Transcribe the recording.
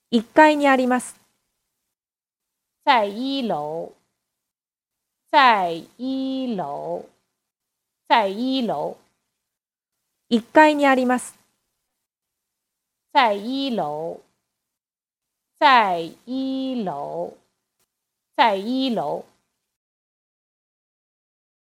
1階にあります。 在一楼，在一楼，在一楼， 1階にあります。 在一楼，在一楼，在一楼。